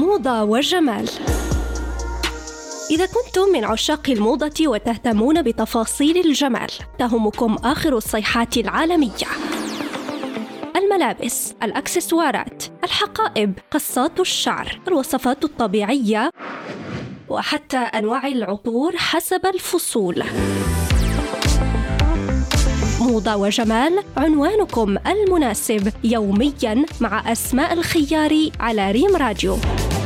موضة وجمال. إذا كنتم من عشاق الموضة وتهتمون بتفاصيل الجمال، تهمكم آخر الصيحات العالمية: الملابس، الأكسسوارات، الحقائب، قصات الشعر، الوصفات الطبيعية، وحتى أنواع العطور حسب الفصول. موضة وجمال، عنوانكم المناسب يومياً مع أسماء الخياري على ريم راديو.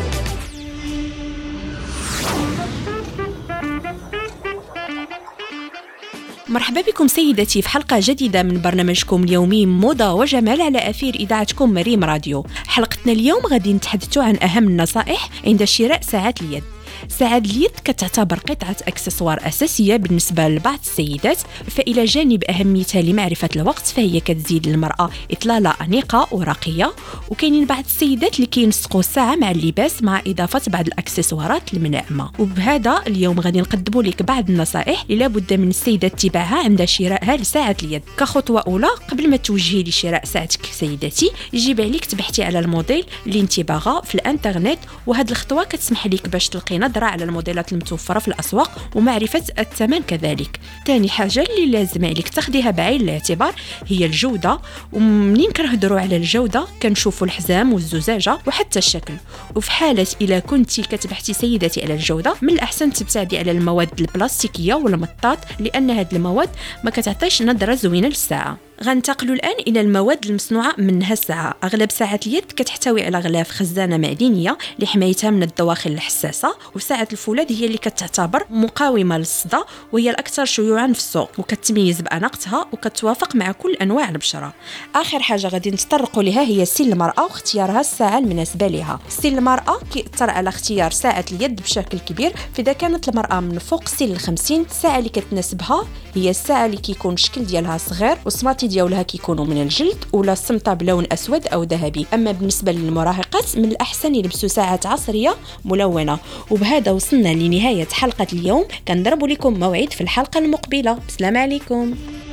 مرحبا بكم سيدتي في حلقة جديدة من برنامجكم اليومي موضة وجمال على أثير إذاعتكم ريم راديو. حلقتنا اليوم غادي نتحدثوا عن أهم النصائح عند شراء ساعات اليد. ساعات اليد كتعتبر قطعة أكسسوار أساسية بالنسبة لبعض السيدات، فإلى جانب أهميتها لمعرفة الوقت فهي كتزيد للمرأة إطلالة أنيقة ورقية. وكاينين بعض السيدات اللي كينسقوا الساعة مع اللباس مع إضافة بعض الأكسسوارات المناعمة. وبهذا اليوم غادي نقدموا لك بعض النصائح اللي لابد من السيدة اتباعها عند شرائها لساعة اليد. كخطوة أولى، قبل ما توجهي لشراء ساعتك سيدتي، يجب عليك تبحثي على الموديل اللي انت باغا في الانترنت، وهذه الخطوة كتسمح لك باش تلقي نظرة على الموديلات المتوفرة في الأسواق ومعرفة الثمن كذلك. ثاني حاجة اللي لازم عليك تاخديها بعين الاعتبار هي الجودة. ومنين كنهضروا على الجودة كنشوفوا الحزام والزجاجة وحتى الشكل. وفي حالة إلا كنتي كتبحثي سيدتي على الجودة، من الأحسن تبتعدي على المواد البلاستيكية والمطاط، لأن هذه المواد ما كتعطيش نظرة زوينة للساعة. غنتقلوا الآن إلى المواد المصنوعة منها الساعة. أغلب ساعات اليد كتحتوي على غلاف خزانة معدنية لحمايتها من الدواخل الحساسة. وساعة الفولاذ هي اللي كتعتبر مقاومة للصدى، وهي الأكثر شيوعا في السوق، وكتميز بأناقتها وكتوافق مع كل أنواع البشرة. آخر حاجة غادي نتطرقوا لها هي سن المرأة واختيارها الساعة المناسبة لها. سن المرأة كيأثر على اختيار ساعة اليد بشكل كبير. فإذا كانت المرأة من فوق سن 50، الساعة اللي كتناسبها هي الساعة اللي كيكون الشكل ديالها صغير والصماتي ديالها كيكونوا من الجلد ولا الصمتة بلون أسود أو ذهبي. أما بالنسبة للمراهقات من الأحسن يلبسوا ساعات عصرية ملونة. وبهذا وصلنا لنهاية حلقة اليوم. كنضرب لكم موعد في الحلقة المقبلة. السلام عليكم.